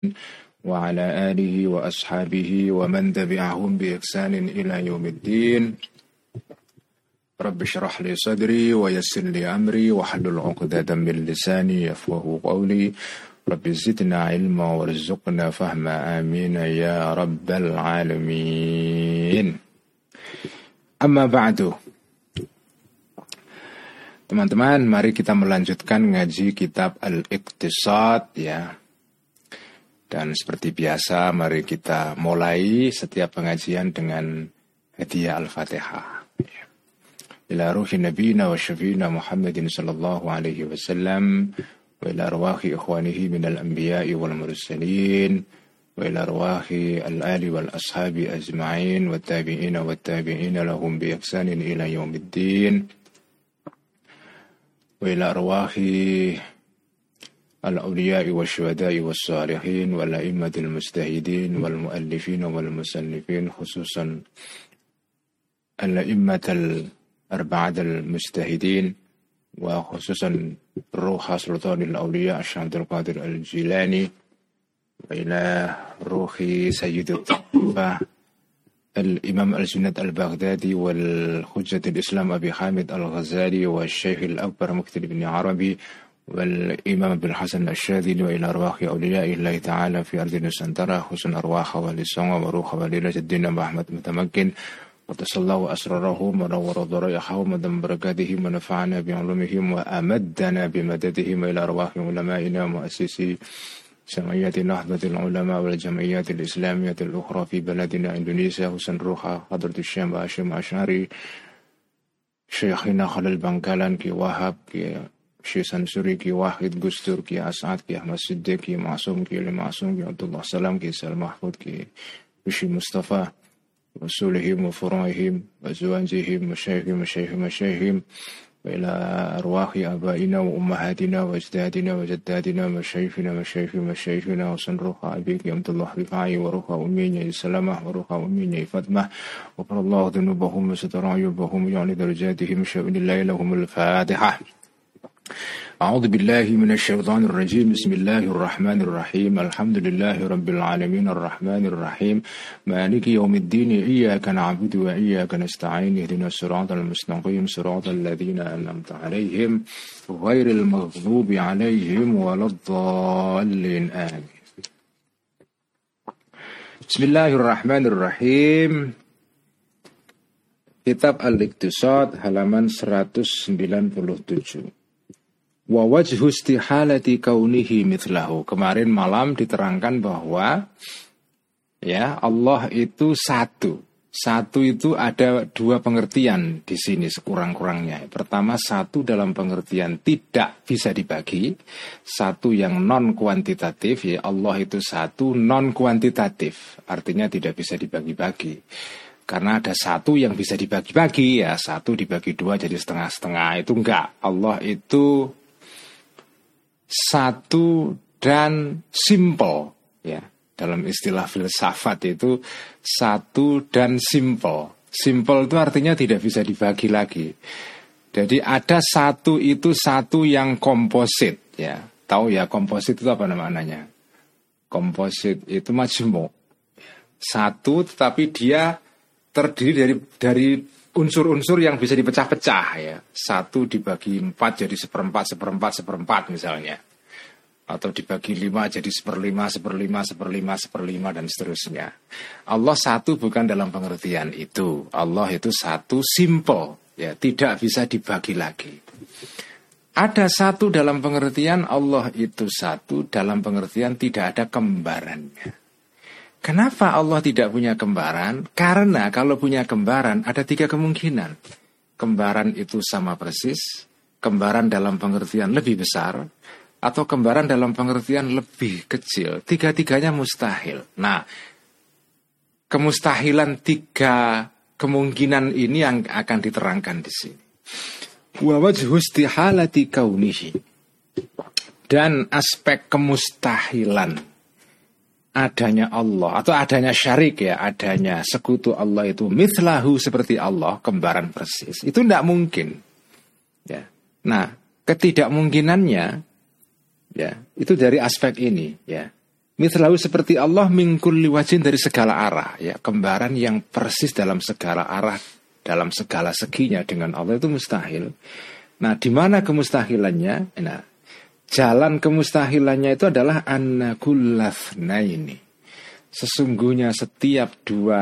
وعلى آله وأصحابه ومن تبعهم بإحسان إلى يوم الدين. رب اشرح لي صدري ويسر لي أمري واحلل عقدة من لساني يفقهوا قولي. رب زدنا علما وارزقنا فهما آمين يا رب العالمين. Amma ba'du. Teman-teman, mari kita melanjutkan ngaji kitab Al-Iqtisad ya. Dan seperti biasa, mari kita mulai setiap pengajian dengan hadiah Al-Fatihah. Ila ruhi nabiyina wa syafiina Muhammadin sallallahu alaihi wasallam wa ila arwahi ikhwanihi minal anbiya'i wal mursalin wa ila arwahi al-ali wal ashabi ajma'in wa tabi'ina lahum bi ihsanin ila yaumiddin wa ila arwahi الأولياء والشهداء والصالحين والأئمة المجتهدين والمؤلفين والمصنفين خصوصا الأئمة الأربعة المجتهدين وخصوصا روح سلطان الأولياء الشيخ عبد القادر الجيلاني وإلى روح سيد الطائفة الإمام الجنيد البغدادي والحجة الإسلام أبي حامد الغزالي والشيخ الأكبر مكتب بن عربي والإمام ابن الحسن الشاذلي وإلى أرواح أولياء الله تعالى في أرض نسنترة حسن أرواح ولي الصنع وروح ولي الدين أحمد متمكن وتصلى الله أسرارهم ونور ضرائحهم ودم بركاتهم ونفعنا بعلومهم وأمدنا بمددهم إلى أرواح علمائنا ومؤسسي جمعية نهضة العلماء والجمعيات الإسلامية الأخرى في بلدنا إندونيسيا حسن روح حضرة الشيخ هاشم أشعري شيخنا خلال بنكالان كي وهاب كي Syekh Sansuri, Ki Wahid, Gustur, Ki As'ad, Ki Ahmad Siddiq, Ki Ma'sum, Ki Ali Ma'sum, Ki Abdullah Salam, Ki Sal Mahfud, Ki Bishi Mustafa, Rasulihim, wa Furahim, wa Zuwanjihim, Masyayhim, wa ila arwahi abaina wa ummahatina wa ajdadina wa jaddadina wa masyaykhina wa sanruha abiki Abdullah Rifai wa ruha umminya Salamah wa ruha umminya Fatmah wa qarallahu dhunubahum wa satarayubahum ya'ni darajatihim sya'unillahi lahumul Fatihah. أعوذ بالله من الشيطان الرجيم بسم الله الرحمن الرحيم الحمد لله رب العالمين الرحمن الرحيم مالك يوم الدين إياك نعبد وإياك نستعين اهدنا الصراط المستقيم صراط الذين أنعمت عليهم غير المغضوب عليهم ولا الضالين آمين. بسم الله الرحمن الرحيم. Kitab Al-Iqtisad halaman 197. Wa wajhu istihalati kaunihi mithlahu. Kemarin malam diterangkan bahwa ya Allah itu satu. Satu itu ada dua pengertian di sini sekurang-kurangnya. Pertama, satu dalam pengertian tidak bisa dibagi. Satu yang non kuantitatif, ya Allah itu satu non kuantitatif. Artinya tidak bisa dibagi-bagi. Karena ada satu yang bisa dibagi-bagi, ya satu dibagi dua jadi setengah-setengah. Itu enggak. Allah itu satu dan simple, ya. Dalam istilah filsafat itu satu dan simple. Simple itu artinya tidak bisa dibagi lagi. Jadi ada satu itu satu yang komposit, ya. Tahu ya komposit itu apa namanya? Komposit itu majmuk. Satu tetapi dia terdiri dari unsur-unsur yang bisa dipecah-pecah ya. Satu dibagi 4 jadi seperempat misalnya. Atau dibagi 5 jadi seperlima dan seterusnya. Allah satu bukan dalam pengertian itu. Allah itu satu simple ya, tidak bisa dibagi lagi. Ada satu dalam pengertian Allah itu satu dalam pengertian tidak ada kembarannya. Kenapa Allah tidak punya kembaran? Karena kalau punya kembaran ada 3 kemungkinan. Kembaran itu sama persis, kembaran dalam pengertian lebih besar, atau kembaran dalam pengertian lebih kecil. Tiga-tiganya mustahil. Nah, kemustahilan 3 kemungkinan ini yang akan diterangkan di sini. Wa wajhu istihalati kaunihi. Dan aspek kemustahilan adanya Allah atau adanya syarik ya, adanya sekutu Allah itu mithlahu seperti Allah, kembaran persis. Itu tidak mungkin. Ya. Nah, ketidakmungkinannya ya, itu dari aspek ini ya. Mithlahu seperti Allah min kulli wajhin dari segala arah, ya, kembaran yang persis dalam segala arah, dalam segala seginya dengan Allah itu mustahil. Nah, di mana kemustahilannya? Nah, jalan kemustahilannya itu adalah anna kullathnaini. Sesungguhnya setiap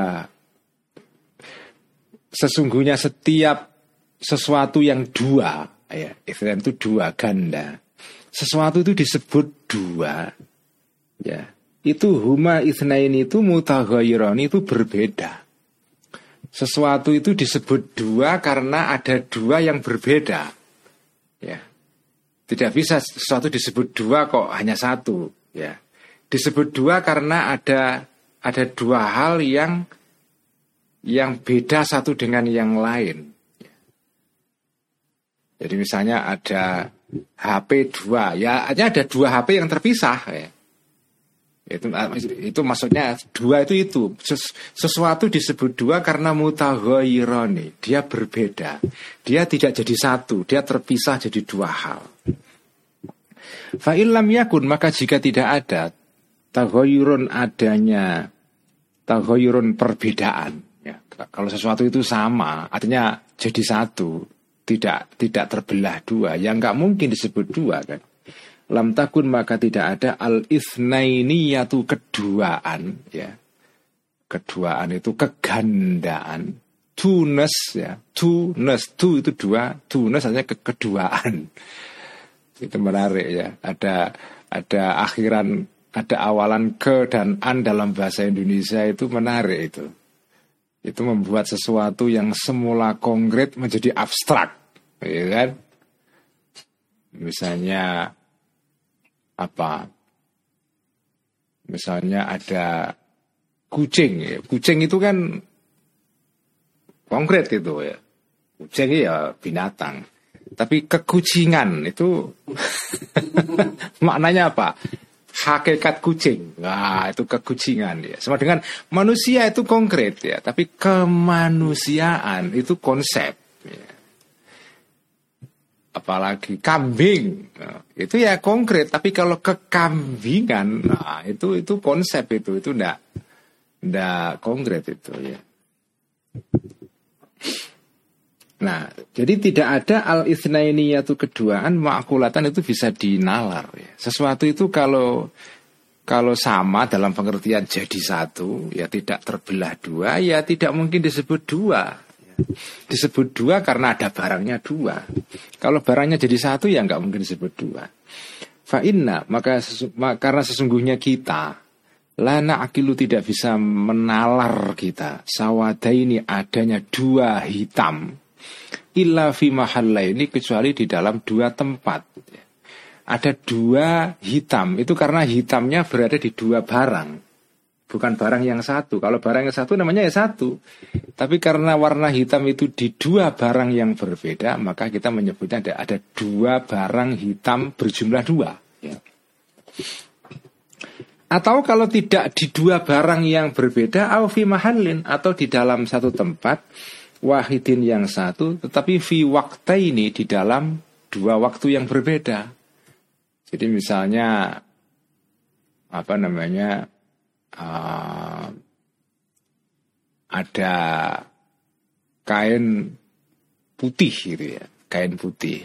sesuatu yang dua, ya, itu dua ganda. Sesuatu itu disebut dua, ya. Itu huma itsnaini itu mutaghayyirani itu berbeda. Sesuatu itu disebut dua karena ada dua yang berbeda. Ya. Tidak bisa sesuatu disebut dua kok hanya satu, ya. Disebut dua karena ada dua hal yang beda satu dengan yang lain. Jadi misalnya ada HP 2, ya hanya ada 2 HP yang terpisah, ya. Itu maksudnya 2 itu sesuatu disebut 2 karena mutaghayyirani, dia berbeda. Dia tidak jadi satu, dia terpisah jadi 2 hal. Fa illam yakun, maka jika tidak ada taghayyurun, adanya taghayyurun perbedaan, ya. Kalau sesuatu itu sama, artinya jadi satu, tidak terbelah 2, ya nggak mungkin disebut 2 kan. Lam takun, maka tidak ada al-itsnainiyatu, keduaan, ya. Keduaan itu kegandaan. Tunes, ya. Tunes, tu itu 2, tunes artinya keduaan. Itu menarik, ya. Ada akhiran, ada awalan ke dan an dalam bahasa Indonesia, itu menarik itu. Itu membuat sesuatu yang semula konkret menjadi abstrak, ya kan? Misalnya apa? Misalnya ada kucing, ya. Kucing itu kan konkret itu, ya. Kucing ya binatang. Tapi kekucingan itu maknanya apa? Hakikat kucing. Nah, itu kekucingan, ya. Sama dengan manusia itu konkret, ya, tapi kemanusiaan itu konsep, ya. Apalagi kambing, nah, itu ya konkret, tapi kalau kekambingan, nah itu konsep, itu enggak konkret itu, ya. Nah, jadi tidak ada al-itsnainiyatu, keduaan, ma'qulatan itu bisa dinalar, ya. Sesuatu itu kalau sama dalam pengertian jadi satu, ya tidak terbelah 2, ya tidak mungkin disebut 2. Disebut 2 karena ada barangnya 2. Kalau barangnya jadi satu, ya nggak mungkin disebut 2. Fa inna, maka karena sesungguhnya kita lana akilu, tidak bisa menalar kita sawadaini, adanya 2 hitam, illa fi mahallaini, kecuali di dalam 2 tempat. Ada 2 hitam, itu karena hitamnya berada di 2 barang, bukan barang yang satu. Kalau barang yang satu namanya ya satu. Tapi karena warna hitam itu di 2 barang yang berbeda, maka kita menyebutnya ada 2 barang hitam berjumlah 2, ya. Atau kalau tidak di 2 barang yang berbeda, au fi mahallin, atau di dalam satu tempat, wahidin yang satu, tetapi fi waqtaini, di dalam 2 waktu yang berbeda. Jadi misalnya apa namanya, ada kain putih gitu, ya, kain putih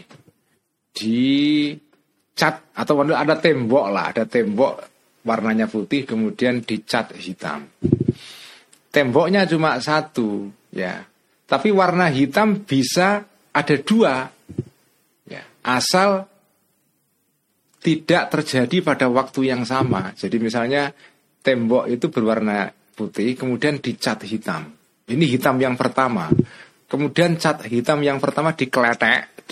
dicat, atau ada tembok lah, ada tembok warnanya putih kemudian dicat hitam. Temboknya cuma 1, ya, tapi warna hitam bisa ada 2, ya, asal tidak terjadi pada waktu yang sama. Jadi misalnya tembok itu berwarna putih kemudian dicat hitam. Ini hitam yang pertama. Kemudian cat hitam yang pertama dikeletek,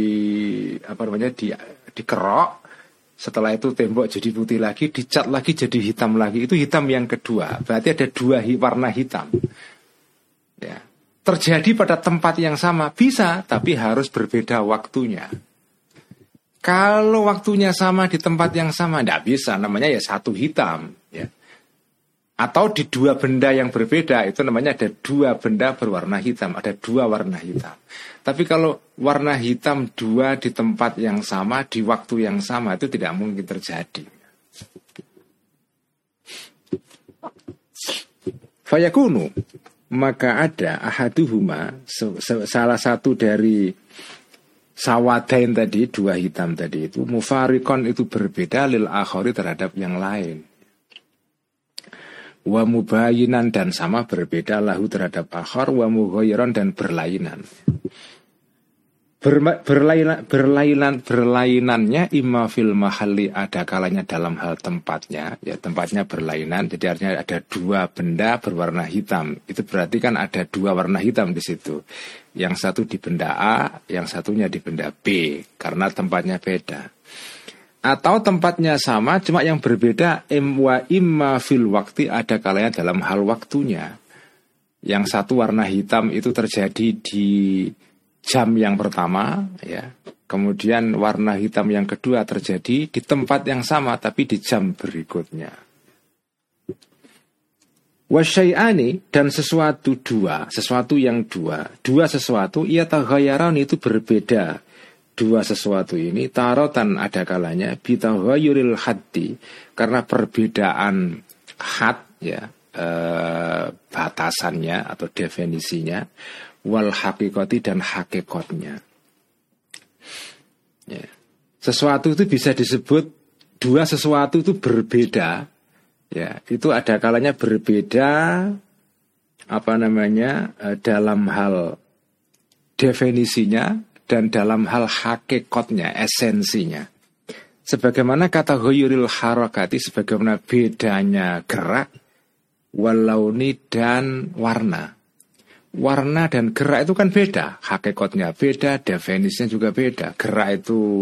dikerok. Setelah itu tembok jadi putih lagi, dicat lagi jadi hitam lagi. Itu hitam yang kedua. Berarti ada 2 warna hitam, ya. Terjadi pada tempat yang sama bisa, tapi harus berbeda waktunya. Kalau waktunya sama di tempat yang sama, tidak bisa, namanya ya 1 hitam, ya. Atau di 2 benda yang berbeda, itu namanya ada 2 benda berwarna hitam, ada 2 warna hitam. Tapi kalau warna hitam 2 di tempat yang sama, di waktu yang sama, itu tidak mungkin terjadi. Fayakunu, maka ada ahaduhuma, salah satu dari sawadain tadi, dua hitam tadi itu, mufarikon itu berbeda lil akhari terhadap yang lain. Wa mubayinan dan sama berbeda lahu terhadap akhar, wa mughayyiran dan berlainan. Berlainannya imma fil mahalli, ada kalanya dalam hal tempatnya, ya tempatnya berlainan, jadi artinya ada dua benda berwarna hitam. Itu berarti kan ada dua warna hitam di situ. Yang satu di benda A, yang satunya di benda B, karena tempatnya beda. Atau tempatnya sama, cuma yang berbeda imma fil waktu, ada kalanya dalam hal waktunya. Yang satu warna hitam itu terjadi di jam yang pertama, ya. Kemudian warna hitam yang kedua terjadi di tempat yang sama tapi di jam berikutnya. Wasyai'ani, dan sesuatu yang dua sesuatu ia taghayyaran itu berbeda. Dua sesuatu ini tarotan ada kalanya bitaghayyuril haddi, karena perbedaan had, ya, batasannya atau definisinya, wal hakikati dan hakikatnya. Ya. Sesuatu itu bisa disebut dua sesuatu itu berbeda. Ya, itu ada kalanya berbeda dalam hal definisinya dan dalam hal hakikatnya, esensinya. Sebagaimana kata ghayyuril harakati, sebagaimana bedanya gerak, walauni dan warna. Warna dan gerak itu kan beda, hakikatnya beda, definisinya juga beda. Gerak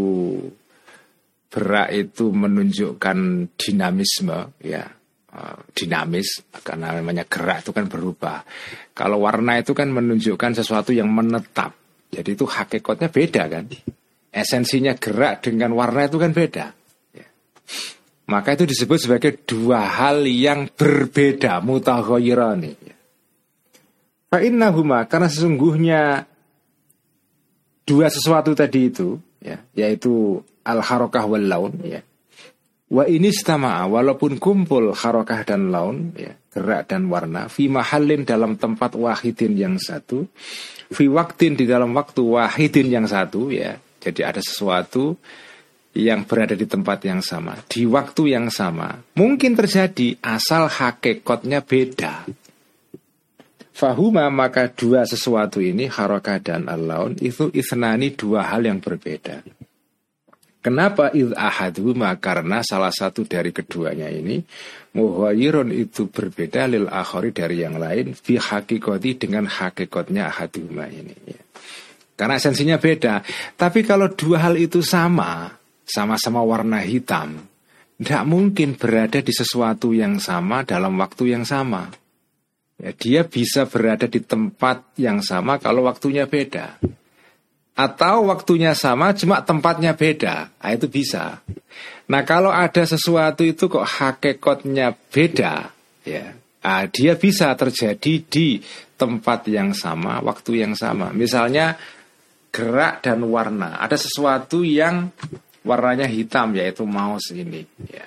itu menunjukkan dinamisme, ya, dinamis, karena namanya gerak itu kan berubah. Kalau warna itu kan menunjukkan sesuatu yang menetap, jadi itu hakikatnya beda kan. Esensinya gerak dengan warna itu kan beda, ya. Maka itu disebut sebagai dua hal yang berbeda, mutaghayyirani, ya. Fa'innahuma, karena sesungguhnya dua sesuatu tadi itu, ya, yaitu al-harakah wal laun, ya. Wa inistama'a, walaupun kumpul harakah dan laun, ya, gerak dan warna, fi mahallin dalam tempat wahidin yang satu, fi waktin di dalam waktu wahidin yang satu, ya. Jadi ada sesuatu yang berada di tempat yang sama, di waktu yang sama, mungkin terjadi asal hakikatnya beda. Fahuma, maka dua sesuatu ini, harakah dan al-laun, itu ithnani, dua hal yang berbeda. Kenapa idh ahadhuma? Karena salah satu dari keduanya ini mughayyirun itu berbeda lil akhari dari yang lain, fi hakikati dengan hakikatnya ahadhuma ini, ya. Karena esensinya beda. Tapi kalau dua hal itu sama-sama warna hitam, tidak mungkin berada di sesuatu yang sama dalam waktu yang sama. Ya, dia bisa berada di tempat yang sama kalau waktunya beda. Atau waktunya sama cuma tempatnya beda. Nah, itu bisa. Nah, kalau ada sesuatu itu kok hakikatnya beda, ya, dia bisa terjadi di tempat yang sama, waktu yang sama. Misalnya gerak dan warna. Ada sesuatu yang warnanya hitam, yaitu mouse ini, ya.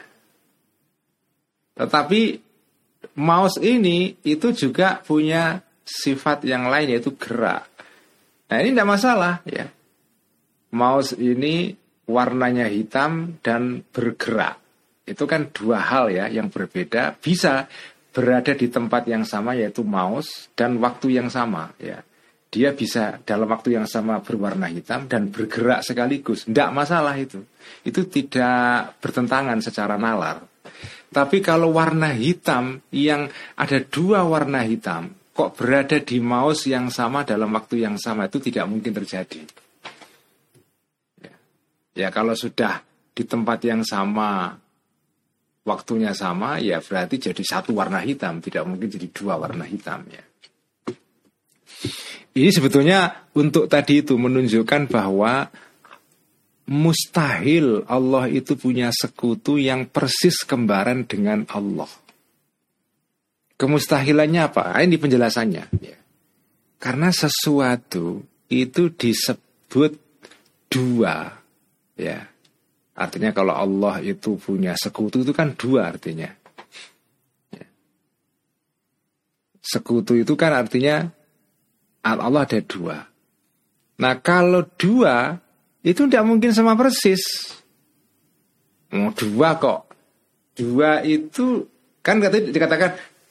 Tetapi mouse ini itu juga punya sifat yang lain, yaitu gerak. Nah, ini tidak masalah, ya. Mouse ini warnanya hitam dan bergerak. Itu kan dua hal, ya, yang berbeda, bisa berada di tempat yang sama, yaitu mouse, dan waktu yang sama, ya. Dia bisa dalam waktu yang sama berwarna hitam dan bergerak sekaligus. Tidak masalah itu. Itu tidak bertentangan secara nalar. Tapi kalau warna hitam yang ada dua warna hitam kok berada di mouse yang sama dalam waktu yang sama, itu tidak mungkin terjadi. Ya, kalau sudah di tempat yang sama, waktunya sama, ya berarti jadi satu warna hitam, tidak mungkin jadi dua warna hitam, ya. Ini sebetulnya untuk tadi itu menunjukkan bahwa mustahil Allah itu punya sekutu yang persis kembaran dengan Allah. Kemustahilannya apa? Ini penjelasannya, ya. Karena sesuatu itu disebut dua, ya. Artinya kalau Allah itu punya sekutu itu kan dua artinya. Ya. Sekutu itu kan artinya Allah ada dua. Nah kalau dua itu tidak mungkin sama persis. Dua kok. Dua itu kan dikatakan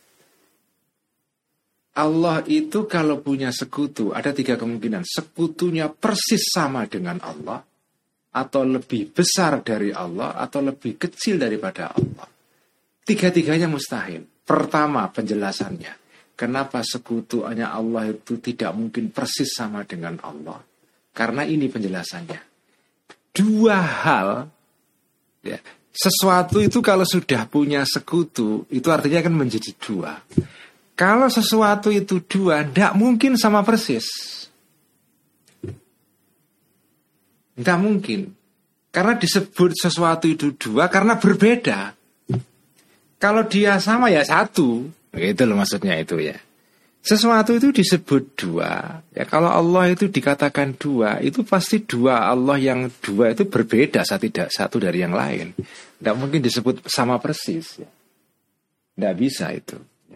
Allah itu kalau punya sekutu ada 3 kemungkinan. Sekutunya persis sama dengan Allah, atau lebih besar dari Allah, atau lebih kecil daripada Allah. 3-tiganya mustahil. Pertama penjelasannya, kenapa sekutunya Allah itu tidak mungkin persis sama dengan Allah? Karena ini penjelasannya. Dua hal, ya, sesuatu itu kalau sudah punya sekutu, itu artinya akan menjadi dua. Kalau sesuatu itu dua, tidak mungkin sama persis. Tidak mungkin. Karena disebut sesuatu itu dua karena berbeda. Kalau dia sama ya satu. Itu loh maksudnya itu ya. Sesuatu itu disebut dua. Ya kalau Allah itu dikatakan dua, itu pasti dua. Allah yang dua itu berbeda satu dari yang lain. Tidak mungkin disebut sama persis. Tidak bisa itu.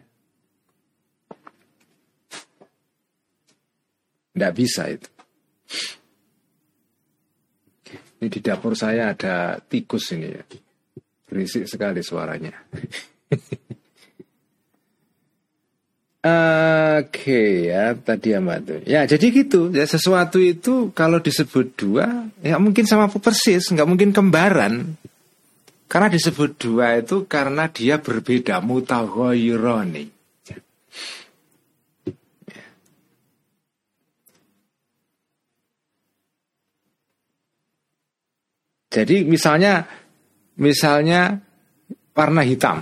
Tidak bisa itu. Ini di dapur saya ada tikus ini ya. Berisik sekali suaranya. Oke ya, tadi Mbak. Ya jadi gitu. Ya, sesuatu itu kalau disebut dua, ya mungkin sama persis, nggak mungkin kembaran. Karena disebut dua itu karena dia berbeda, mutaghayyirani. Jadi misalnya warna hitam.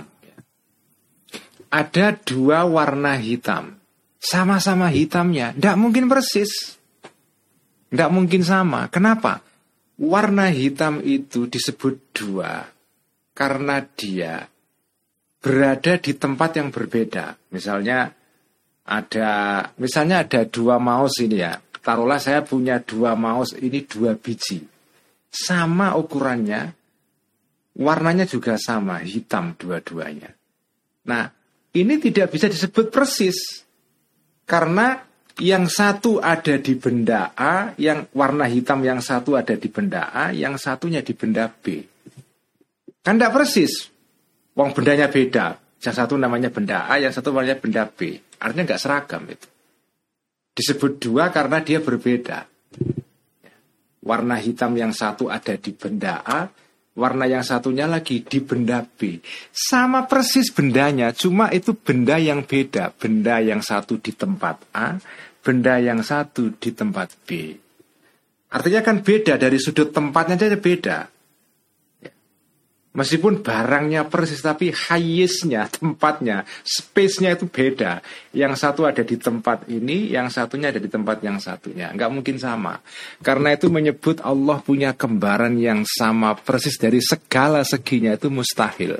Ada 2 warna hitam. Sama-sama hitamnya. Tidak mungkin persis. Tidak mungkin sama. Kenapa? Warna hitam itu disebut dua karena dia berada di tempat yang berbeda. Misalnya ada 2 mouse ini ya. Taruhlah saya punya 2 mouse ini 2 biji. Sama ukurannya, warnanya juga sama, hitam dua-duanya. Nah, ini tidak bisa disebut persis. Karena yang satu ada di benda A, yang warna hitam yang satu ada di benda A, yang satunya di benda B. Kan tidak persis. Wong bendanya beda. Yang satu namanya benda A, yang satu namanya benda B. Artinya nggak seragam itu. Disebut dua karena dia berbeda. Warna hitam yang satu ada di benda A, warna yang satunya lagi di benda B. Sama persis bendanya, cuma itu benda yang beda. Benda yang satu di tempat A, benda yang satu di tempat B. Artinya kan beda, dari sudut tempatnya saja beda. Meskipun barangnya persis, tapi hayisnya, tempatnya, space-nya itu beda. Yang satu ada di tempat ini, yang satunya ada di tempat yang satunya. Nggak mungkin sama. Karena itu menyebut Allah punya kembaran yang sama persis dari segala seginya itu mustahil.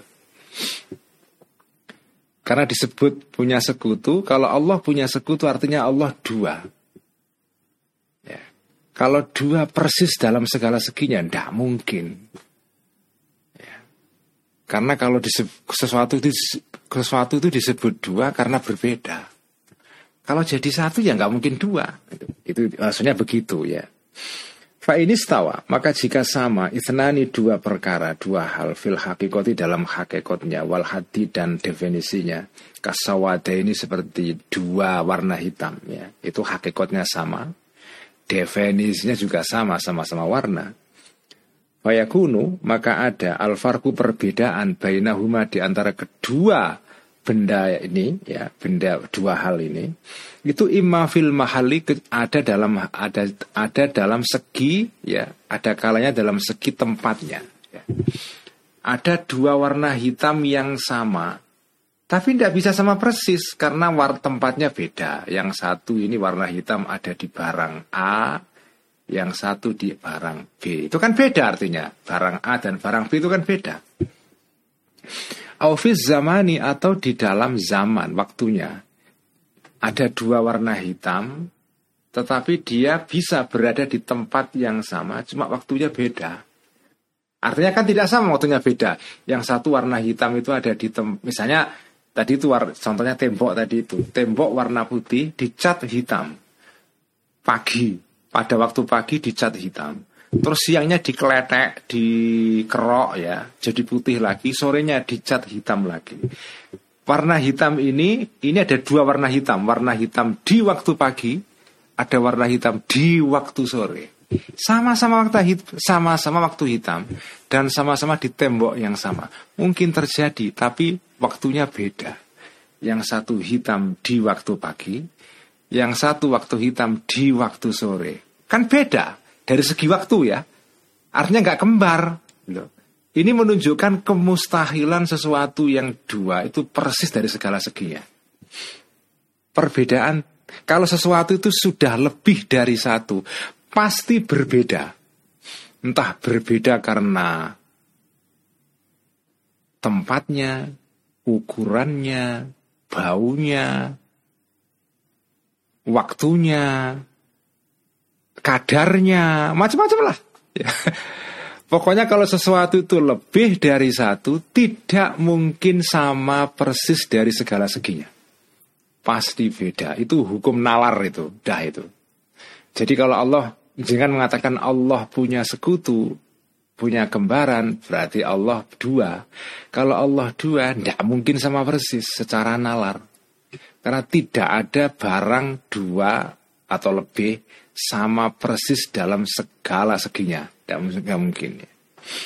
Karena disebut punya sekutu, kalau Allah punya sekutu artinya Allah dua. Ya. Kalau dua persis dalam segala seginya, nggak mungkin. Karena kalau sesuatu itu disebut dua karena berbeda. Kalau jadi satu ya nggak mungkin dua. Itu maksudnya begitu ya. Fa ini istawa, maka jika sama itnani 2 perkara, 2 hal fil hakikati dalam hakikatnya, wal hadi dan definisinya, kasawada ini seperti 2 warna hitam ya. Itu hakikatnya sama, definisinya juga sama-sama warna. Fayakunu, maka ada alfarku perbedaan bainahuma di antara kedua benda ini ya, benda 2 hal ini itu imma fil mahali, ada dalam segi ya, ada kalanya dalam segi tempatnya ya. Ada 2 warna hitam yang sama tapi tidak bisa sama persis karena tempatnya beda. Yang satu ini warna hitam ada di barang A, yang satu di barang B. Itu kan beda artinya. Barang A dan barang B itu kan beda. Aufiz zamani, atau di dalam zaman waktunya. Ada 2 warna hitam, tetapi dia bisa berada di tempat yang sama, cuma waktunya beda. Artinya kan tidak sama, waktunya beda. Yang satu warna hitam itu ada di misalnya Tadi itu contohnya tembok tadi itu. Tembok warna putih dicat hitam. Pagi, pada waktu pagi dicat hitam. Terus siangnya dikeletek, dikerok ya, jadi putih lagi. Sorenya dicat hitam lagi. Warna hitam ini ada dua warna hitam. Warna hitam di waktu pagi, ada warna hitam di waktu sore. Sama-sama waktu hitam dan sama-sama di tembok yang sama. Mungkin terjadi, tapi waktunya beda. Yang satu hitam di waktu pagi, yang satu waktu hitam di waktu sore. Kan beda dari segi waktu ya. Artinya nggak kembar loh. Ini menunjukkan kemustahilan sesuatu yang dua itu persis dari segala seginya. Perbedaan, kalau sesuatu itu sudah lebih dari satu, pasti berbeda. Entah berbeda karena tempatnya, ukurannya, baunya, waktunya, kadarnya, macam-macam lah. Pokoknya kalau sesuatu itu lebih dari satu, tidak mungkin sama persis dari segala seginya. Pasti beda. Itu hukum nalar itu. Dah itu. Jadi kalau Allah, jangan mengatakan Allah punya sekutu, punya kembaran, berarti Allah dua. Kalau Allah dua, tidak mungkin sama persis secara nalar. Karena tidak ada barang dua atau lebih sama persis dalam segala seginya. Tidak mungkin ya.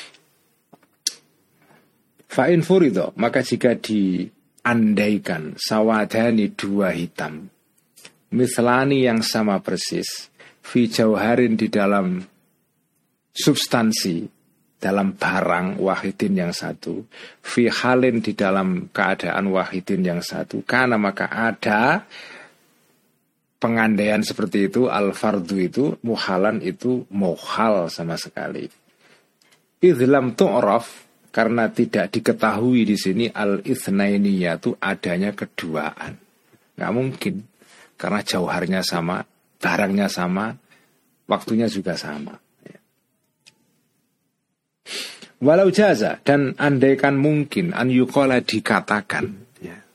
Fa'in furido, maka jika diandaikan sawadani dua hitam, mislani yang sama persis, fi jauharin di dalam substansi, dalam barang wahidin yang satu, fi halin di dalam keadaan wahidin yang satu, karena maka ada pengandaian seperti itu, al-fardu itu, muhalan itu muhal sama sekali. Idlam tu'raf, karena tidak diketahui di sini al-itsnainiyah itu adanya keduaan. Nggak mungkin, karena jauharnya sama, barangnya sama, waktunya juga sama. Walau jaza, dan andaikan mungkin an yuqala dikatakan,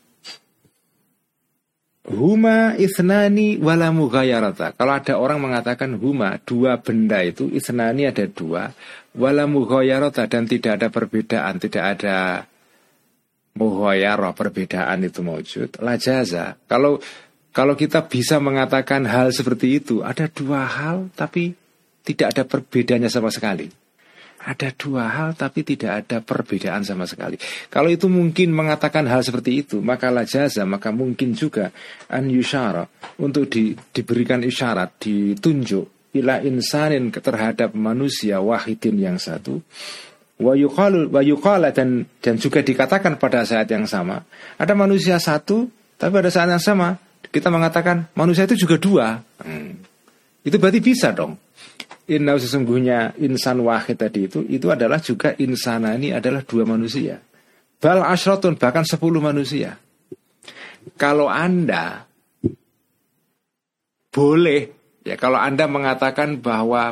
huma ithnani wala mughayarata. Kalau ada orang mengatakan huma, dua benda itu, ithnani ada dua, wala mughayarata, dan tidak ada perbedaan, tidak ada mughayarah, perbedaan itu mawjud, la jaza. Kalau kita bisa mengatakan hal seperti itu, ada dua hal tapi tidak ada perbedaannya sama sekali. Ada dua hal tapi tidak ada perbedaan sama sekali. Kalau itu mungkin mengatakan hal seperti itu, maka la jaza, maka mungkin juga an yusyara, untuk diberikan isyarat, ditunjuk ila insanin, terhadap manusia wahidin yang satu, wa yuqala, dan juga dikatakan pada saat yang sama, ada manusia satu tapi pada saat yang sama kita mengatakan manusia itu juga dua. Itu berarti bisa dong. Inna, sesungguhnya insan wahid tadi itu adalah juga insanani, adalah dua manusia. Bal asyratun, bahkan 10 manusia. Kalau Anda boleh, ya kalau Anda mengatakan bahwa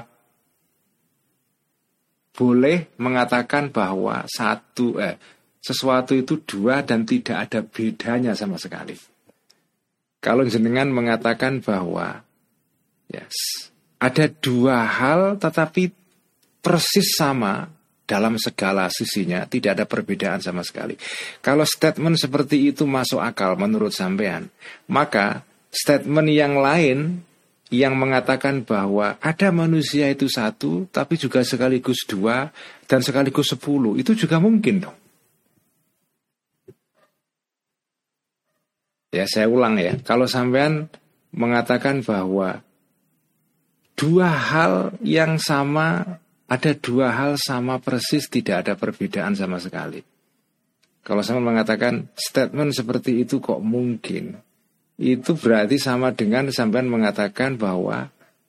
boleh mengatakan bahwa sesuatu itu dua dan tidak ada bedanya sama sekali. Kalau jenengan mengatakan bahwa ada dua hal tetapi persis sama dalam segala sisinya, tidak ada perbedaan sama sekali. Kalau statement seperti itu masuk akal menurut sampean, maka statement yang lain yang mengatakan bahwa ada manusia itu satu tapi juga sekaligus dua dan sekaligus 10, itu juga mungkin dong. Ya, saya ulang ya. Kalau sampean mengatakan bahwa dua hal yang sama, ada dua hal sama persis, tidak ada perbedaan sama sekali. Kalau saya mengatakan statement seperti itu kok mungkin, itu berarti sama dengan sampean mengatakan bahwa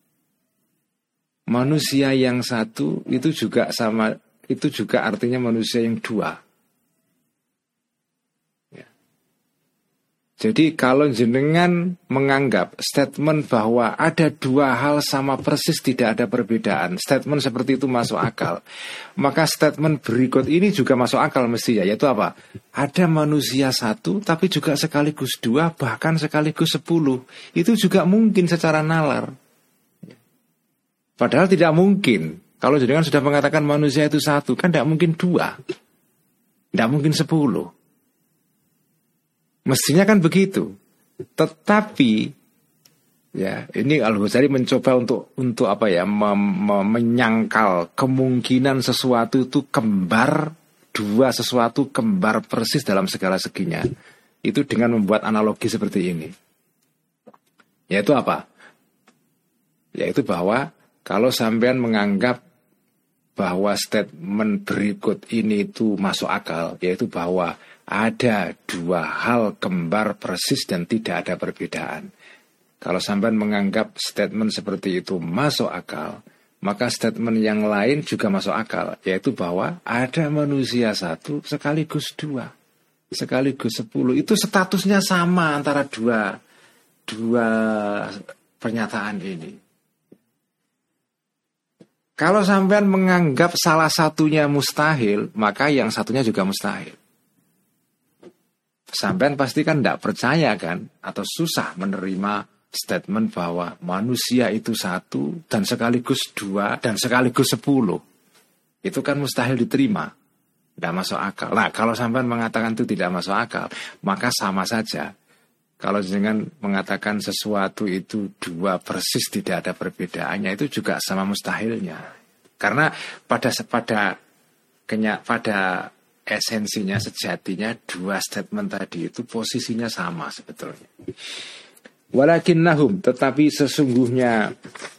manusia yang satu itu juga sama, itu juga artinya manusia yang dua. Jadi kalau jenengan menganggap statement bahwa ada dua hal sama persis tidak ada perbedaan, statement seperti itu masuk akal, maka statement berikut ini juga masuk akal mestinya, yaitu apa? Ada manusia satu tapi juga sekaligus dua, bahkan sekaligus 10. Itu juga mungkin secara nalar. Padahal tidak mungkin. Kalau jenengan sudah mengatakan manusia itu satu, kan tidak mungkin 2, tidak mungkin 10. Mestinya kan begitu. Tetapi ya, ini Al-Ghazali mencoba untuk apa ya, menyangkal kemungkinan sesuatu itu kembar, dua sesuatu kembar persis dalam segala seginya. Itu dengan membuat analogi seperti ini. Yaitu apa? Yaitu bahwa kalau sampean menganggap bahwa statement berikut ini itu masuk akal, yaitu bahwa ada dua hal kembar persis dan tidak ada perbedaan. Kalau sampean menganggap statement seperti itu masuk akal, maka statement yang lain juga masuk akal, yaitu bahwa ada manusia satu sekaligus 2, sekaligus 10. Itu statusnya sama antara dua pernyataan ini. Kalau sampean menganggap salah satunya mustahil, maka yang satunya juga mustahil. Sampean pasti kan tidak percaya kan, atau susah menerima statement bahwa manusia itu satu dan sekaligus 2 dan sekaligus 10. Itu kan mustahil diterima, tidak masuk akal. Nah, kalau sampean mengatakan itu tidak masuk akal, maka sama saja. Kalau dengan mengatakan sesuatu itu 2 persis tidak ada perbedaannya, itu juga sama mustahilnya. Karena pada esensinya, sejatinya, 2 statement tadi itu posisinya sama sebetulnya. Walakinnahum, tetapi sesungguhnya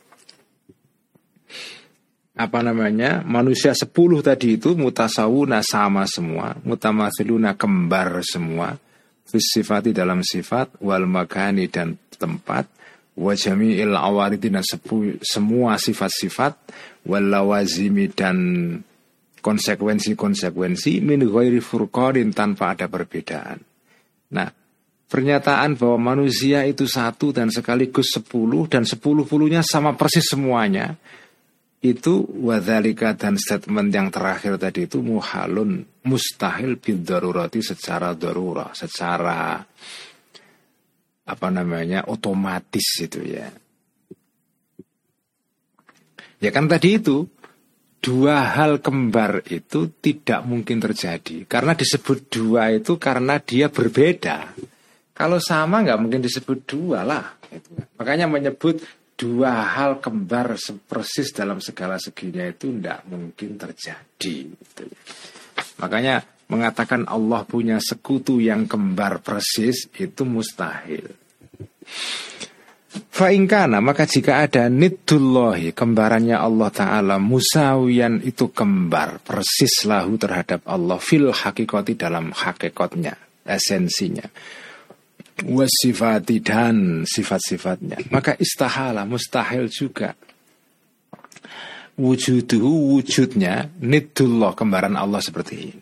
manusia 10 tadi itu mutasawuna, sama semua, mutamatsiluna, kembar semua, fisifati, dalam sifat, wal makani, dan tempat, wa jami'il awaridi, dan semua sifat-sifat, wal lawazimi, dan konsekuensi-konsekuensi, min ghairi furqanin, tanpa ada perbedaan. Nah, pernyataan bahwa manusia itu satu dan sekaligus 10 dan 10-10-nya sama persis semuanya, itu wadzalika, dan statement yang terakhir tadi itu muhalun, mustahil bidarurati, secara darurah, secara otomatis itu ya. Ya kan tadi itu 2 hal kembar itu tidak mungkin terjadi. Karena disebut 2 itu karena dia berbeda. Kalau sama nggak mungkin disebut 2 lah. Makanya menyebut 2 hal kembar persis dalam segala seginya itu tidak mungkin terjadi. Makanya mengatakan Allah punya sekutu yang kembar persis itu mustahil. Fa'ingkana, maka jika ada niddullahi, kembarannya Allah Ta'ala, musawiyan, itu kembar persis lahu terhadap Allah, fil hakikati, dalam hakikatnya, esensinya, wasifati, dan sifat-sifatnya, maka istahala, mustahil juga, wujuduhu, wujudnya, niddullah, kembaran Allah seperti ini.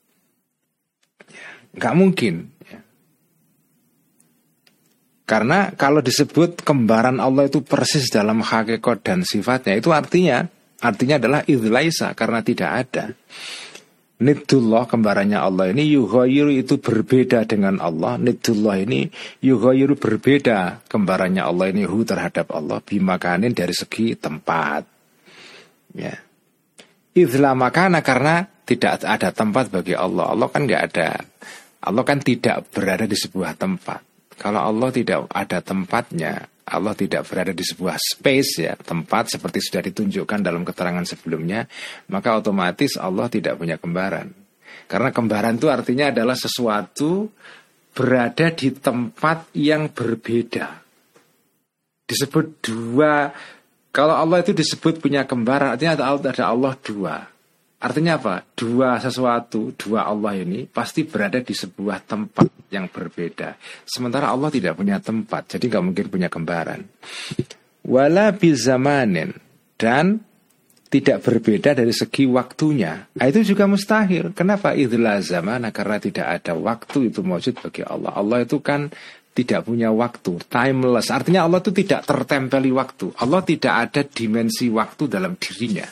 Gak mungkin. Karena kalau disebut kembaran Allah itu persis dalam hakikat dan sifatnya, itu artinya adalah idlaisa, karena tidak ada. Niddullah, kembarannya Allah ini, yughayiru, itu berbeda dengan Allah. Niddullah ini yughayiru, berbeda kembarannya Allah ini hu terhadap Allah, bimakanin, dari segi tempat. Ya. Idla makana, karena tidak ada tempat bagi Allah. Allah kan nggak ada. Allah kan tidak berada di sebuah tempat. Kalau Allah tidak ada tempatnya, Allah tidak berada di sebuah space ya, tempat seperti sudah ditunjukkan dalam keterangan sebelumnya, maka otomatis Allah tidak punya kembaran. Karena kembaran itu artinya adalah sesuatu berada di tempat yang berbeda. Disebut 2. Kalau Allah itu disebut punya kembaran, artinya ada Allah 2. Artinya apa? 2 sesuatu, 2 Allah ini pasti berada di sebuah tempat yang berbeda. Sementara Allah tidak punya tempat, jadi gak mungkin punya kembaran. Wala bizamanin, dan tidak berbeda dari segi waktunya. Nah, itu juga mustahil. Kenapa? Idzla zamana, karena tidak ada waktu itu maujud bagi Allah. Allah itu kan tidak punya waktu, timeless. Artinya Allah itu tidak tertempeli waktu. Allah tidak ada dimensi waktu dalam dirinya.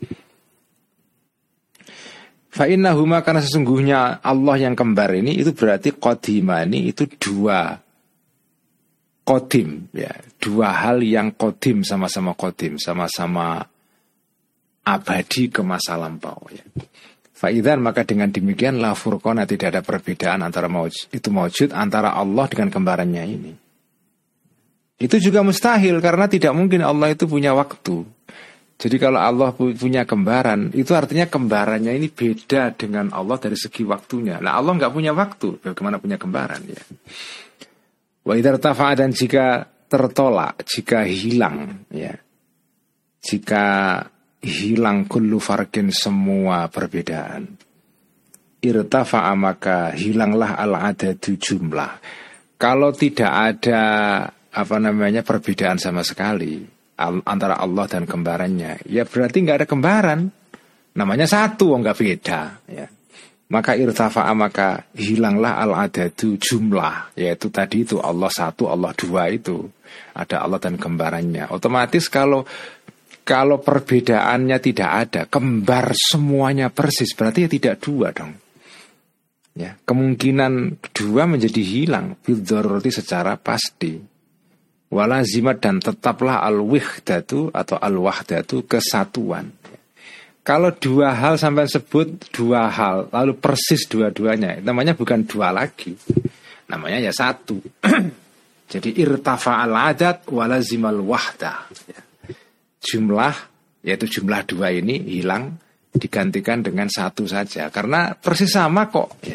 Fa innahuma, karena sesungguhnya Allah yang kembar ini itu berarti qadimani, itu dua qadim, ya, dua hal yang qadim, sama-sama qadim, sama-sama abadi ke masa lampau, ya. Fa'idzan, maka dengan demikian la furqana, tidak ada perbedaan antara maujud antara Allah dengan kembarannya ini. Itu juga mustahil karena tidak mungkin Allah itu punya waktu. Jadi kalau Allah punya kembaran, itu artinya kembarannya ini beda dengan Allah dari segi waktunya. Nah, Allah nggak punya waktu, bagaimana punya kembaran, ya. Wa idza irtafa'a, dan jika tertolak, jika hilang, ya, jika hilang kullu farqin, semua perbedaan, irtafa'a, maka hilanglah al-adadu, jumlah. Kalau tidak ada perbedaan sama sekali antara Allah dan kembarannya, ya berarti nggak ada kembaran, namanya satu, nggak beda, ya. Maka irtafa'a, maka hilanglah al-adadu, jumlah, yaitu tadi itu Allah satu, Allah dua, itu ada Allah dan kembarannya. Otomatis kalau perbedaannya tidak ada, kembar semuanya persis, berarti ya tidak dua dong. Ya, kemungkinan dua menjadi hilang bidharurati, secara pasti. Walazimat, dan tetaplah al-wihdatu atau al-wahdatu, kesatuan. Kalau dua hal sampai sebut dua hal, lalu persis dua-duanya, namanya bukan dua lagi, namanya ya satu. Jadi irtafa'al adad walazimal wahdah, ya. Jumlah, yaitu jumlah dua ini hilang, digantikan dengan satu saja, karena persis sama kok, ya.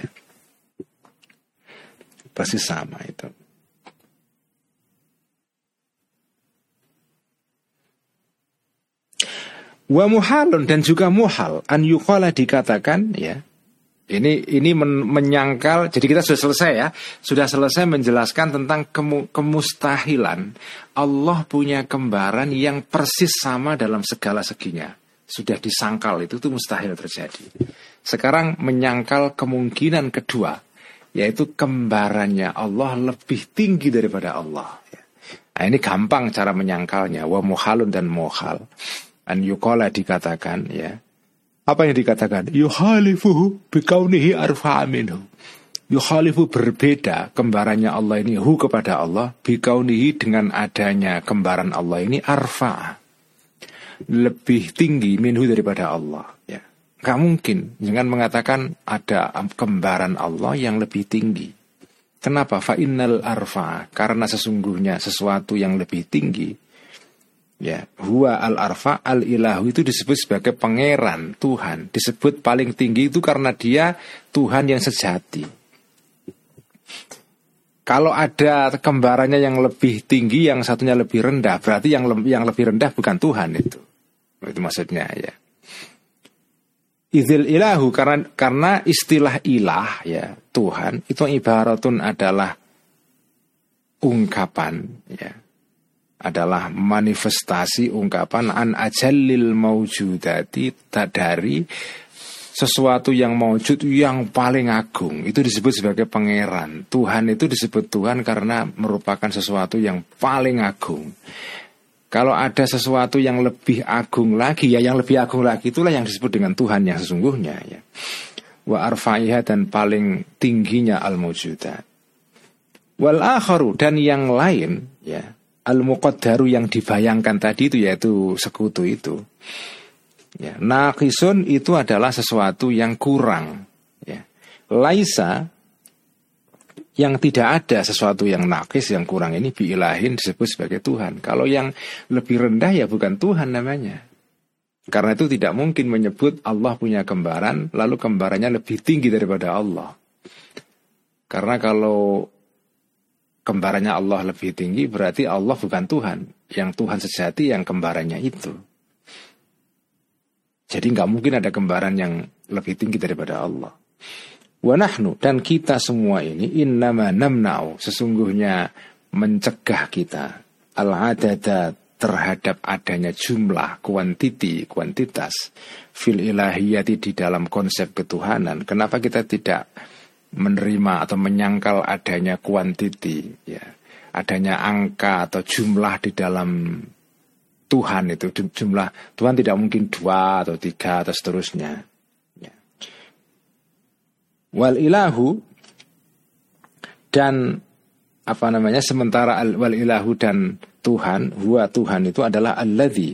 Persis sama itu. Wa muhalun, dan juga muhal, an yuqala, dikatakan, ya. Ini menyangkal. Jadi kita sudah selesai, ya. Sudah selesai menjelaskan tentang kemustahilan Allah punya kembaran yang persis sama dalam segala seginya. Sudah disangkal, itu tuh mustahil terjadi. Sekarang menyangkal kemungkinan kedua, yaitu kembarannya Allah lebih tinggi daripada Allah, ya. Nah, ini gampang cara menyangkalnya. Wa muhalun, dan muhal an yuqala, dikatakan, ya. Apa yang dikatakan? Yukhalifuhu bikaunihi arfa'a minhu. Yukhalifu, berbeda kembarannya Allah ini hu, kepada Allah, bikaunihi, dengan adanya kembaran Allah ini arfa'a, lebih tinggi, minhu, daripada Allah, ya. Gak mungkin jangan mengatakan ada kembaran Allah yang lebih tinggi. Kenapa? Fa innal arfa'a, karena sesungguhnya sesuatu yang lebih tinggi, ya, huwa al-arfa al-ilahu, itu disebut sebagai pangeran, Tuhan. Disebut paling tinggi itu karena dia Tuhan yang sejati. Kalau ada kembarannya yang lebih tinggi, yang satunya lebih rendah, berarti yang lebih rendah bukan Tuhan itu. Itu maksudnya, ya. Idzil ilahu, karena istilah ilah, ya, Tuhan, itu ibaratun, adalah ungkapan, ya, adalah manifestasi ungkapan an ajallil maujudati, dari sesuatu yang maujud yang paling agung. Itu disebut sebagai pangeran. Tuhan itu disebut Tuhan karena merupakan sesuatu yang paling agung. Kalau ada sesuatu yang lebih agung lagi, ya yang lebih agung lagi itulah yang disebut dengan Tuhan yang sesungguhnya, ya. Wa arfa'iha, dan paling tingginya al-mawjudat. Wal akharu, dan yang lain, ya, al-muqaddaru, yang dibayangkan tadi itu, yaitu sekutu itu, ya. Naqisun, itu adalah sesuatu yang kurang, ya. Laisa, yang tidak ada sesuatu yang naqis, yang kurang, ini biilahin, disebut sebagai Tuhan. Kalau yang lebih rendah, ya bukan Tuhan namanya. Karena itu tidak mungkin menyebut Allah punya kembaran lalu kembarannya lebih tinggi daripada Allah. Karena kalau kembarannya Allah lebih tinggi, berarti Allah bukan Tuhan. Yang Tuhan sejati yang kembarannya itu. Jadi nggak mungkin ada kembaran yang lebih tinggi daripada Allah. Wa nahnu, dan kita semua ini, innama namna'u, sesungguhnya mencegah kita, al-adadat, terhadap adanya jumlah, kuantitas fil ilahiyati di dalam konsep ketuhanan. Kenapa kita tidak menerima atau menyangkal adanya kuantiti, ya, adanya angka atau jumlah di dalam Tuhan itu. Jumlah Tuhan tidak mungkin 2 atau 3 atau seterusnya, ya. Wal ilahu, dan sementara wal ilahu dan Tuhan, huwa Tuhan itu adalah alladzi,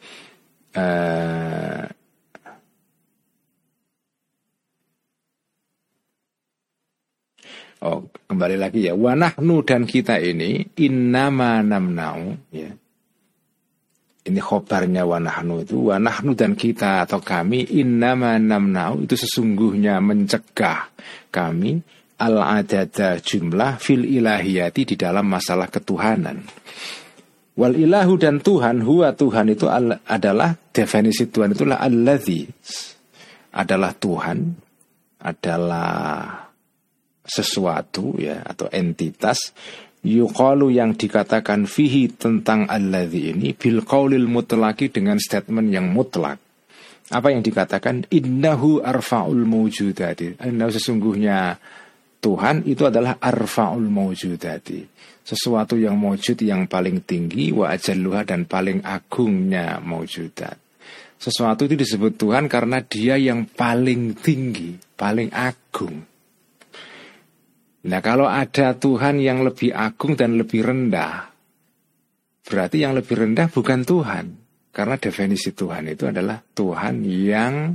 kembali lagi ya, wa nahnu, dan kita ini innama namna'u, ya. Ini khobarnya wa nahnu itu, wa nahnu dan kita atau kami, innama namna'u itu sesungguhnya mencegah kami al-adada jumlah fil ilahiyati di dalam masalah ketuhanan. Wal ilahu, dan Tuhan, huwa Tuhan itu adalah, definisi Tuhan itulah alladzi, adalah Tuhan, adalah sesuatu, ya, atau entitas, yuqalu, yang dikatakan fihi, tentang alladzi ini, bil qaulil mutlaqi, dengan statement yang mutlak. Apa yang dikatakan? Innahu arfa'ul mawjudati, innahu, sesungguhnya Tuhan itu adalah arfa'ul mawjudati, sesuatu yang mawjud, yang paling tinggi, wa ajalluha, dan paling agungnya mawjudat. Sesuatu itu disebut Tuhan karena dia yang paling tinggi, paling agung. Nah, kalau ada Tuhan yang lebih agung dan lebih rendah, berarti yang lebih rendah bukan Tuhan. Karena definisi Tuhan itu adalah Tuhan yang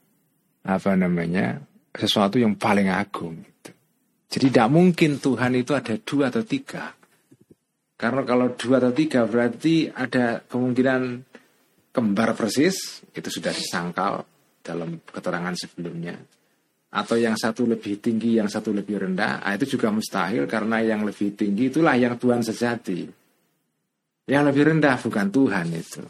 sesuatu yang paling agung gitu. Jadi tidak mungkin Tuhan itu ada 2 atau 3. Karena kalau 2 atau 3 berarti ada kemungkinan kembar persis, itu sudah disangkal dalam keterangan sebelumnya. Atau yang satu lebih tinggi, yang satu lebih rendah, itu juga mustahil, karena yang lebih tinggi itulah yang Tuhan sejati. Yang lebih rendah bukan Tuhan itu.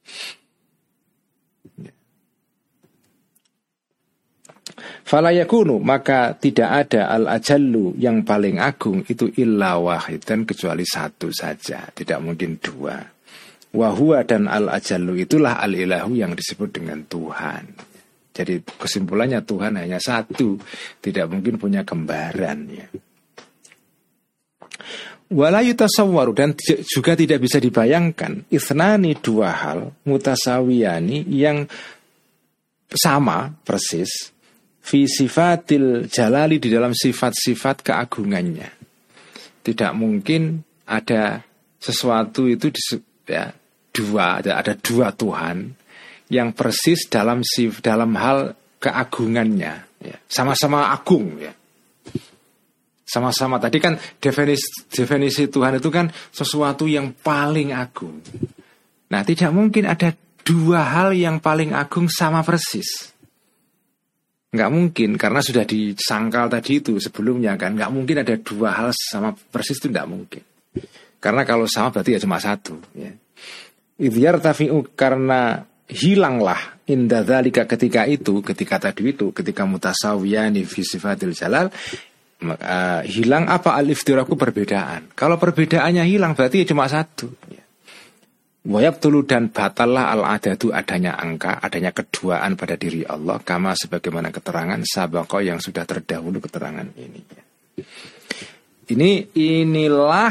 Fala yakunu, maka tidak ada al-ajallu, yang paling agung itu illa wahidan, kecuali satu saja, tidak mungkin 2. Wa huwa, dan al-ajallu itulah al-ilahu, yang disebut dengan Tuhan. Jadi kesimpulannya Tuhan hanya satu, tidak mungkin punya kembaran, ya. Wala yutasawwaru, dan juga tidak bisa dibayangkan, ithnani, 2 hal, mutasawiyani, yang sama persis, fi sifatil jalali, di dalam sifat-sifat keagungannya. Tidak mungkin ada sesuatu itu ada 2 Tuhan yang persis dalam hal keagungannya, ya. Sama-sama agung, ya. Sama-sama, tadi kan definisi Tuhan itu kan sesuatu yang paling agung. Nah, tidak mungkin ada 2 hal yang paling agung sama persis. Nggak mungkin, karena sudah disangkal tadi itu sebelumnya kan. Nggak mungkin ada 2 hal sama persis, itu nggak mungkin. Karena kalau sama berarti ya cuma 1, ya. Idhyar tafi'u, karena hilanglah inda dzalika, ketika tadi itu, ketika mutasawiyani fi sifatil jalal, maka hilang apa, al-iftiraku, perbedaan. Kalau perbedaannya hilang berarti ya cuma 1, ya. Wayabtulu, dan batallah al-adadu, adanya angka, adanya keduaan pada diri Allah, kama sebagaimana keterangan sabaqah, yang sudah terdahulu keterangan ini, ya. Inilah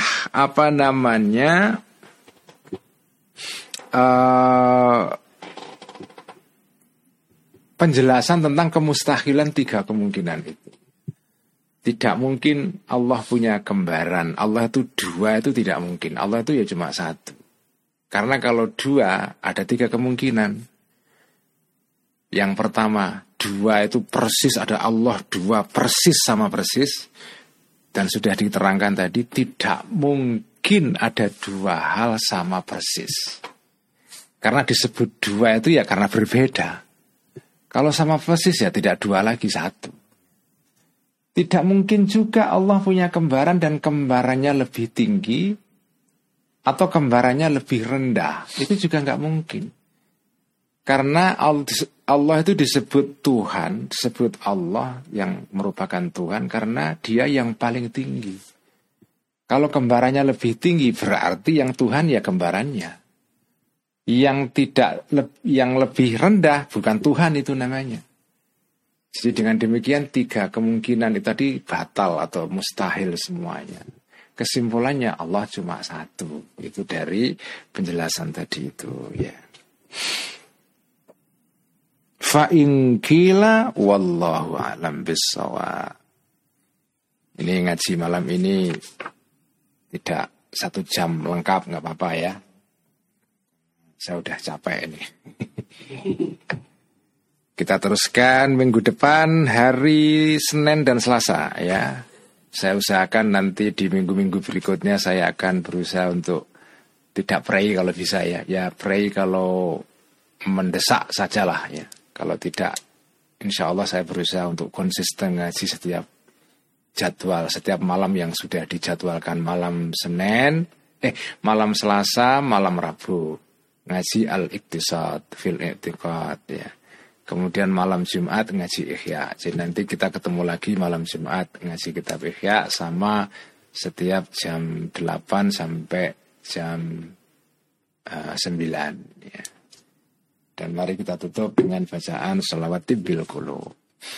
penjelasan tentang kemustahilan 3 kemungkinan itu. Tidak mungkin Allah punya kembaran, Allah itu 2, itu tidak mungkin. Allah itu ya cuma 1. Karena kalau 2 ada 3 kemungkinan. Yang pertama, 2 itu persis, ada Allah 2 persis sama persis. Dan sudah diterangkan tadi, tidak mungkin ada 2 hal sama persis. Karena disebut 2 itu ya karena berbeda. Kalau sama persis ya tidak 2 lagi, 1. Tidak mungkin juga Allah punya kembaran dan kembarannya lebih tinggi atau kembarannya lebih rendah. Itu juga nggak mungkin. Karena Allah itu disebut Tuhan, disebut Allah yang merupakan Tuhan karena dia yang paling tinggi. Kalau kembarannya lebih tinggi berarti yang Tuhan ya kembarannya. yang lebih rendah bukan Tuhan itu namanya. Jadi dengan demikian 3 kemungkinan itu tadi batal atau mustahil semuanya. Kesimpulannya Allah cuma satu. Itu dari penjelasan tadi itu ya. Fa in qila wallahu a'lam bissawab. Ini ngaji malam ini tidak 1 jam lengkap, nggak apa-apa ya. Saya udah capek ini. Kita teruskan minggu depan hari Senin dan Selasa ya. Saya usahakan nanti di minggu-minggu berikutnya saya akan berusaha untuk tidak pray kalau bisa ya. Ya pray kalau mendesak sajalah ya. Kalau tidak, insya Allah saya berusaha untuk konsisten ngaji setiap jadwal, setiap malam yang sudah dijadwalkan. Malam Senin, malam Selasa, malam Rabu ngaji Al-Iqtisad fil I'tiqad ya. Kemudian malam Jumat ngaji Ihya. Jadi nanti kita ketemu lagi malam Jumat ngaji kitab Ihya sama setiap jam 8 sampai jam 9 ya. Dan mari kita tutup dengan bacaan shalawat bil qulub.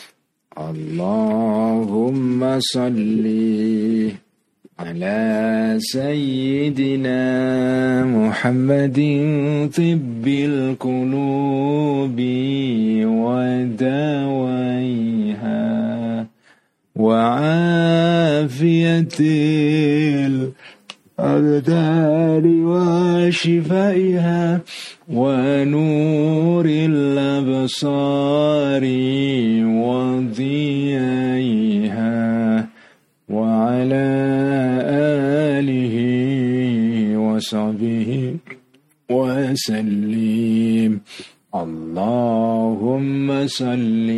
Allahumma salli ala sayyidina Muhammadin tibbil qulubi wa dawaiha wa afiyatil الأبدان وشفائها ونور الأبصار وضيائها وعلى آله وصحبه وسلم اللهم صل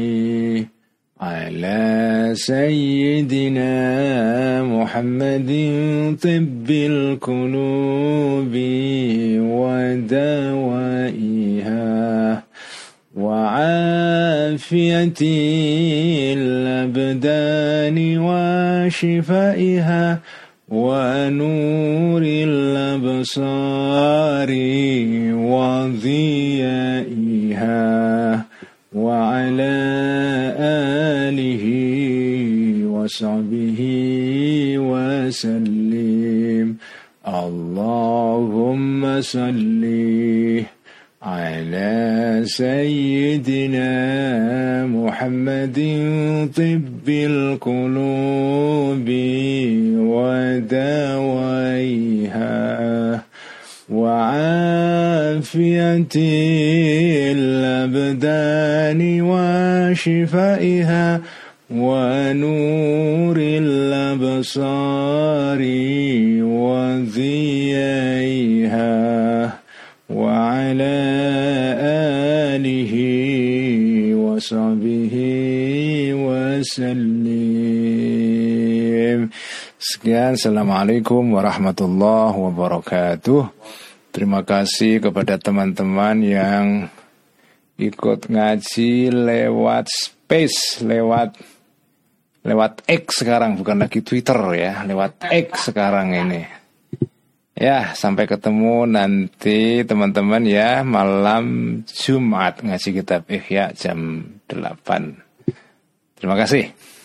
على سيدنا محمد طب القلوب ودوائها وعافية الأبدان وشفائها ونور الأبصار وضيائها وعلى آله وصحبه وسلم اللهم صل على سيدنا محمد طب القلوب ودوائها وعافية الأبدان وشفائها ونور الأبصار وضيائها وعلى آله وصحبه وسلم. Sekian, assalamualaikum warahmatullahi wabarakatuh. Terima kasih kepada teman-teman yang ikut ngaji lewat space, lewat X sekarang, bukan lagi Twitter ya, lewat X sekarang ini. Ya, sampai ketemu nanti teman-teman ya, malam Jumat ngaji kitab Ihya jam 8. Terima kasih.